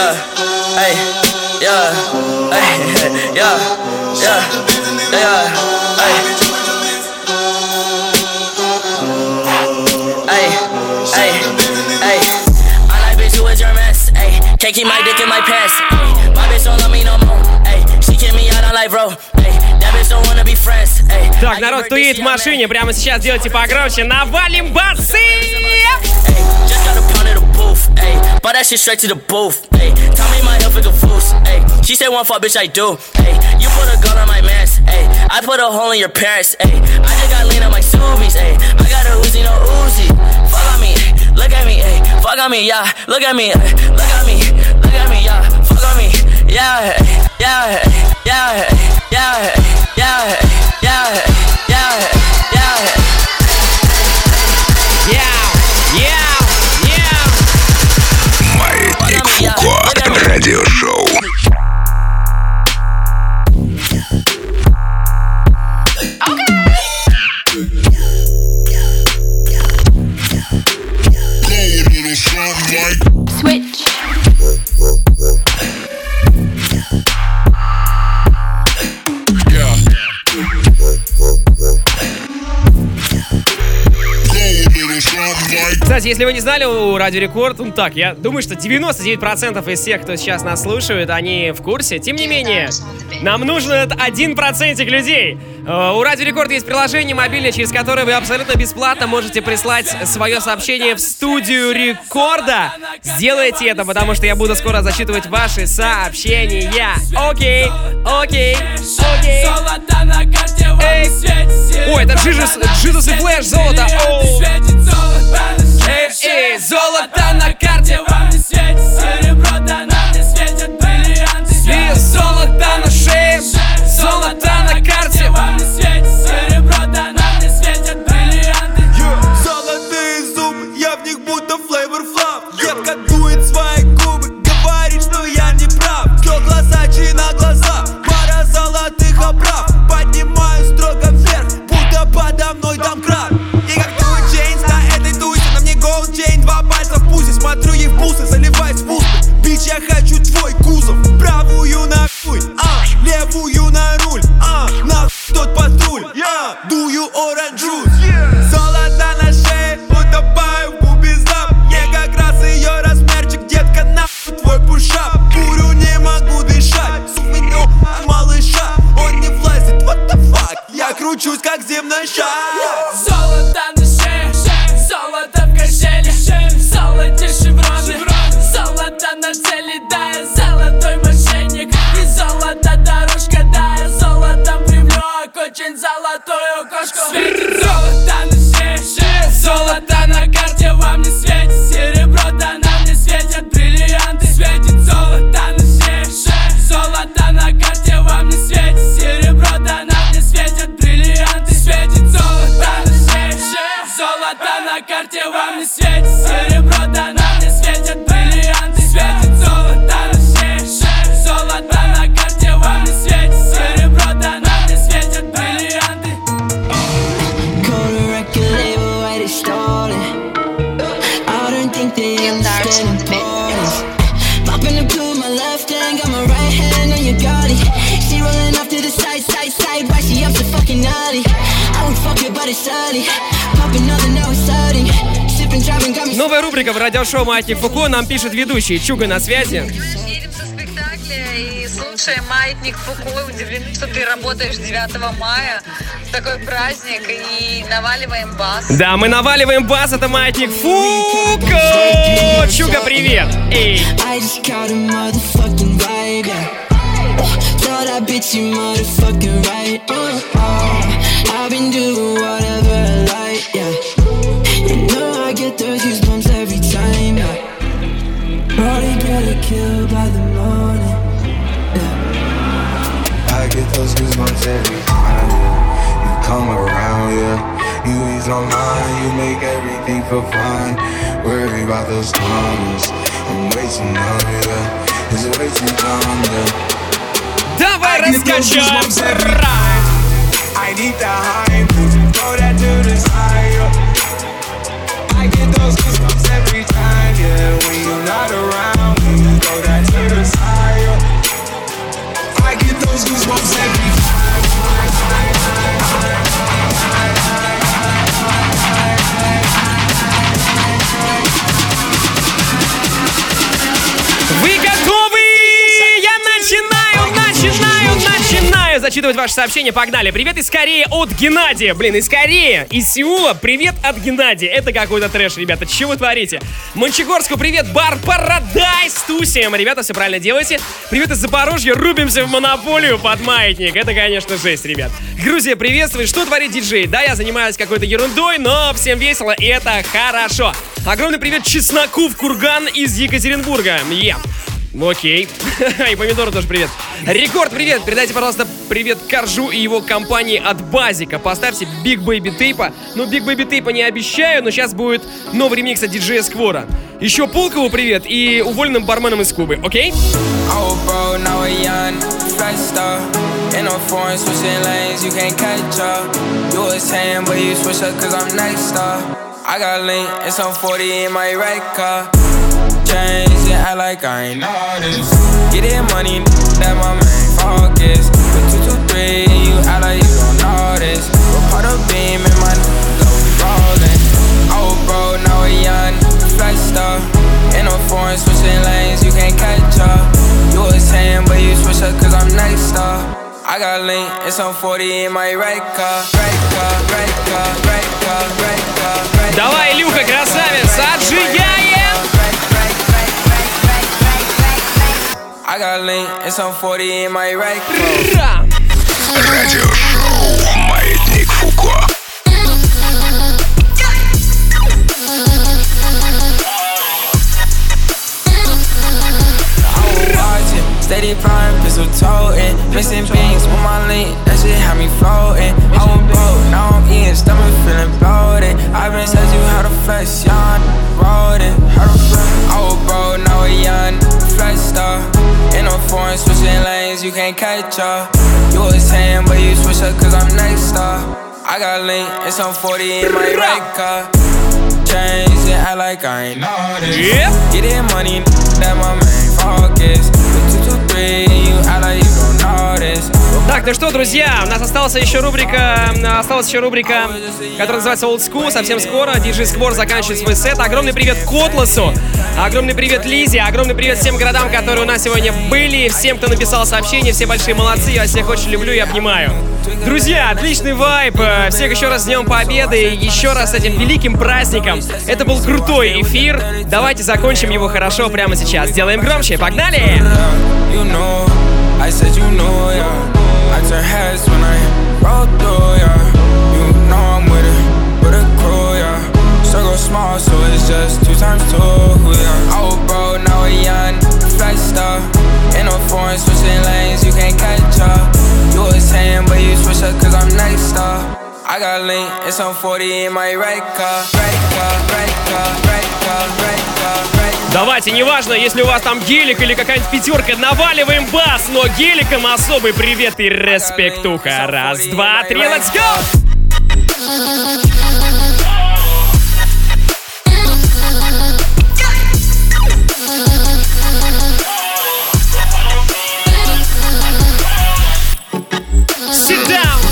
yeah, hey, yeah, hey, yeah, yeah, yeah, hey. Can't keep my dick in my pants. Ay, my bitch don't love me no more. Ay, she kick me out on life, bro. Ay, that bitch don't wanna be friends. Ay, так, народ, кто едет в машине, прямо сейчас делайте погромче. Навалим басы! Just got a pound of the booth. Ay, bought that shit straight to the booth. Ay, tell me my health is a fool's. Ay, she said one fuck, bitch, I do. Ay, you put a gun on my mans. Ay, I put a hole in your parents. Ay, I just got lean on my Subies. Ay, I got a Uzi, no Uzi. Fuck on me, look at me. Ay, fuck on me, yeah. Look at me, look at me. Look at me, yeah, fuck on me, yeah, yeah, yeah, yeah, yeah, yeah, yeah, yeah, yeah. Маятник Фуко, радиошоу. Switch. Кстати, если вы не знали, у Радио Рекорд, ну так, я думаю, что 99% из тех, кто сейчас нас слушает, они в курсе. Тем не менее, нам нужен этот 1% людей. У Радио Рекорд есть приложение мобильное, через которое вы абсолютно бесплатно можете прислать свое сообщение в студию Рекорда. Сделайте это, потому что я буду скоро зачитывать ваши сообщения. Окей, окей, окей. Ой, это Джизус и Флэш, золото. Эй, золото на карте, вам не светит серебро, да нам не светят бриллианты. И золото на шее, золото на карте, вам не светит серебро, да нам не светят бриллианты. Золотые зубы, я в них будто Flavor Flav. Детка дует свои губы, говорит, что я не прав. Кто глаза, чьи на глаза, пара золотых оправ. Поднимаю строго вверх, будто подо мной домкрат. И как дует Джейнс на этой тусе, на мне голд чейн, 2 пальца в пузе. Смотрю ей в бусы, заливаюсь в успех. Бич, я хочу твой кузов. Правую нахуй, левую на руль, нахуй тот патруль, дую оранж джус. Золото на шее, утопаю в бубизап. Мне как раз ее размерчик, детка, нахуй твой пушап. Курю, не могу дышать, суменю малыша. Он не влазит, what the fuck, я кручусь как земной шар. Золото на шее, золото в кошеле, золоте шевроны, золото на цели, да, я золотой мошенник. И золото дорожка, да, я золотом привлек очень золотую кошку. Светит золото на шее, золото на карте, вам не светит серебро, да нам не светят бриллианты. Светит золото на шее, золото на карте, вам не светит серебро, да нам не светят бриллианты. Светит золото на шее, золото на карте, вам не светит серебро, да нам не светят бриллианты. Светит золото на шее, золото на карте, вам не светит серебро, да нам не светят бриллианты. Call the record label, why they stolen? I don't think they understand importance. Popping the blue in my left hand, got my right hand on your body. She rolling off to the side, side, side, why she up so fucking naughty? I would fuck your body slowly. Popping another, now it's starting. Sipping, driving, got me. Новая рубрика в радиошоу «Маятник Фуко». Нам пишет ведущий Чуга на связи. Едем со спектакля и слушаем «Маятник Фуко». Удивлены, что ты работаешь 9 мая. Такой праздник. И наваливаем бас. Да, мы наваливаем бас. Это «Маятник Фуко». Чуга, привет. Эй. I just caught a motherfucking vibe, yeah. Tell that bitch you motherfucking right. I've been doing whatever I like, yeah. You know I get those goosebumps every time, yeah. Probably get killed by the morning, yeah. I get those goosebumps every time, yeah. You come around, yeah. You ease my mind, you make everything feel fine. Worry about those times, I'm way too numb, yeah. It's way too dumb, yeah. Давай раскачаем. I need the high, throw that to the side, yeah. I get those goosebumps every time, yeah. When you're not around, when you throw that to зачитывать ваши сообщения. Погнали. Привет из Кореи от Геннадия. Блин, из Кореи, из Сеула. Привет от Геннадия. Это какой-то трэш, ребята. Что вы творите? Мончегорску привет. Бар Парадайз тусим. Ребята, все правильно делаете. Привет из Запорожья. Рубимся в монополию под маятник. Это, конечно, жесть, ребят. Грузия, приветствует. Что творит диджей? Да, я занимаюсь какой-то ерундой, но всем весело, и это хорошо. Огромный привет Чесноку в Курган из Екатеринбурга. Окей. И Помидору тоже привет. Рекорд, привет. Передайте, пожалуйста, привет Коржу и его компании от Базика. Поставьте Big Baby Tape. Ну, Big Baby Tape не обещаю, но сейчас будет новый ремикс от диджея Сквора. Еще Пулкову привет и уволенным барменам из Кубы, окей? I got lean and some 40 in my right car. Change and act like I ain't noticed. Get that money, that my main focus. With 223, you act like you don't know this. We're part of beam and my go rollin'. Old bro, now a young flat star. In a foreign switching lanes, you can't catch up. You was saying, but you switch up cause I'm next star. I got lean and some 40 in my right car. Давай, Илюха, красавец, отжигаем! I got lean and some 40 in my right car. Радиошоу «Маятник Фуко». Steady prime, pistol toting, mixing beans with my lean, that shit had me floating. I was broke, now I'm eating, stomach feeling bloated. I been said you how to flex, young, rolling. I was broke, now a young flex star. In a foreign switching lanes, you can't catch up. You was saying, but you switch up cause I'm next star. I got lean and some 40 in my right car. Change and act like I ain't noticed. Get that money, that my main focus. Так, ну что, друзья, у нас осталась еще рубрика, которая называется Old School. Совсем скоро диджей Сквор заканчивает свой сет. Огромный привет Котласу, огромный привет Лизе, огромный привет всем городам, которые у нас сегодня были, всем, кто написал сообщения, все большие молодцы, я всех очень люблю и обнимаю. Друзья, отличный вайб, всех еще раз с Днем Победы, еще раз с этим великим праздником. Это был крутой эфир, давайте закончим его хорошо прямо сейчас. Сделаем громче, погнали! You know, I said you know, yeah. I turn heads when I roll through, yeah. You know I'm with a crew, yeah. Circle small, so it's just 2 times 2, yeah. I was broke, now a young flat star. In a foreign switching lanes, you can't catch up. You was saying, but you switch up cause I'm next star. I got lean and some 40 in my right car. Давайте, неважно, если у вас там гелик или какая-нибудь пятерка, наваливаем бас, но геликом особый привет и респектуха. 1, 2, 3, let's go! Sit down!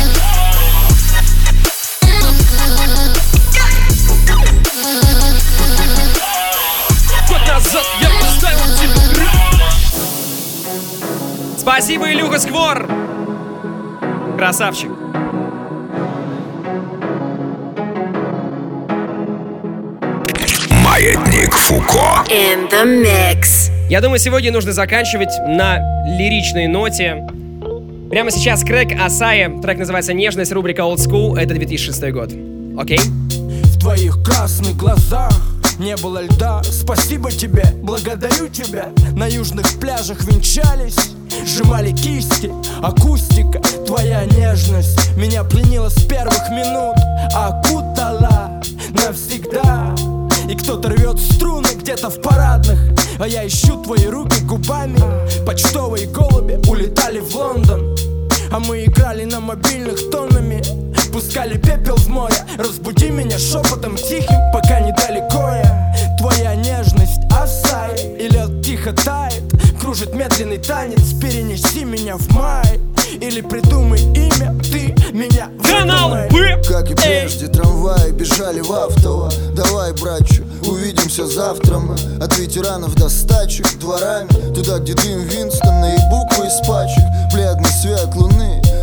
Спасибо, Илюха Сквор! Красавчик! Маятник Фуко. In the mix. Я думаю, сегодня нужно заканчивать на лиричной ноте. Прямо сейчас Крэг Асае, трек называется «Нежность», рубрика Old School, это 2006 год. Окей? В твоих красных глазах не было льда. Спасибо тебе, благодарю тебя. На южных пляжах венчались, сжимали кисти. Акустика, твоя нежность меня пленила с первых минут, окутала навсегда. И кто-то рвет струны где-то в парадных, а я ищу твои руки губами. Почтовые голуби улетали в Лондон, а мы играли на мобильных тоннами. Пускали пепел в море, разбуди меня шепотом тихим, пока недалеко я. Твоя нежность Асай, и лед тихо тает, кружит медленный танец. Перенеси меня в май, или придумай имя, ты меня выдумай. Как и прежде, трамваи бежали в автово. Давай, братчу, увидимся завтра мы. От ветеранов до стачек дворами, туда, где дым Винстона и буквы из пачек. Бледный свет луны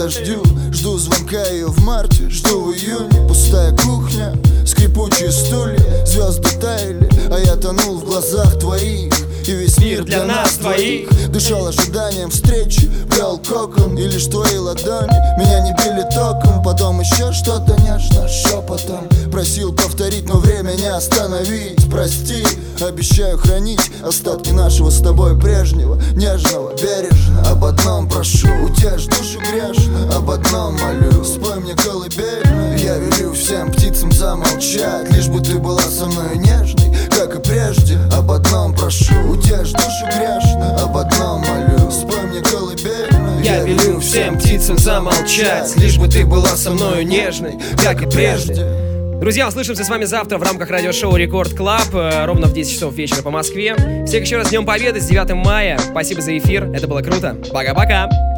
подождю. Жду звонка ее в марте, жду в июне. Пустая кухня, скрипучие стулья. Звезды таяли, а я тонул в глазах твоих. И весь мир для нас двоих. Дышал ожиданием встречи, плел кокон. И лишь твои ладони меня не били током. Потом еще что-то нежно шепотом просил повторить, но время не остановить. Прости, обещаю хранить остатки нашего с тобой прежнего, нежного, бережно. Об одном прошу, утешь душу грешную. Об одном молю, спой мне колыбельную. Я велю всем птицам замолчать, лишь бы ты была со мной нежной, как и прежде. Об одном прошу, утешь душу грешную. Об одном молю, спой мне колыбельную. Я велю всем птицам замолчать, лишь бы ты была со мною нежной, как и прежде. Друзья, услышимся с вами завтра в рамках радиошоу Рекорд Клаб ровно в 10 часов вечера по Москве. Всех еще раз с Днем Победы, с 9 мая. Спасибо за эфир, это было круто. Пока-пока.